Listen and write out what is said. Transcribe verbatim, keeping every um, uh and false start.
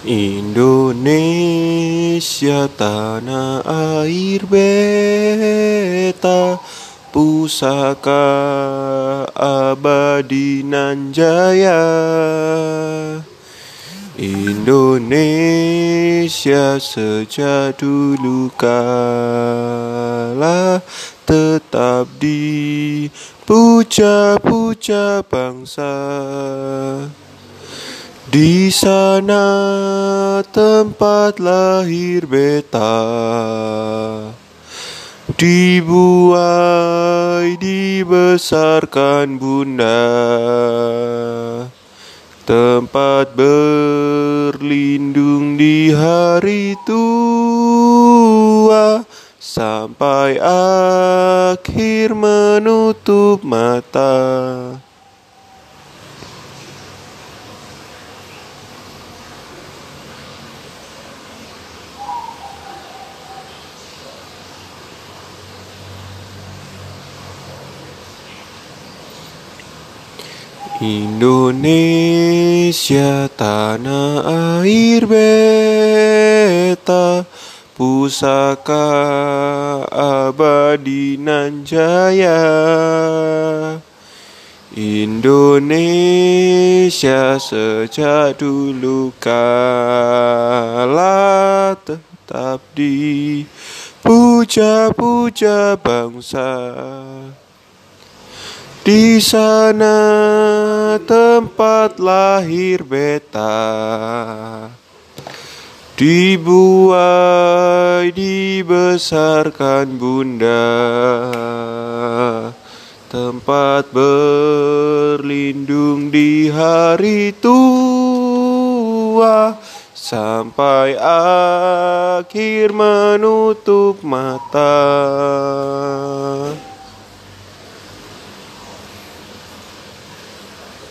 Indonesia tanah air beta, pusaka abadi nan jaya. Indonesia sejak dulu kala tetap dipuja-puja bangsa. Di sana tempat lahir beta, dibuai dibesarkan bunda, tempat berlindung di hari tua, sampai akhir menutup mata. Indonesia tanah air beta, pusaka abadi nan jaya. Indonesia sejak dulu kala tetap dipuja-puja bangsa. Di sana tempat lahir beta, dibuai dibesarkan bunda, tempat berlindung di hari tua, sampai akhir menutup mata.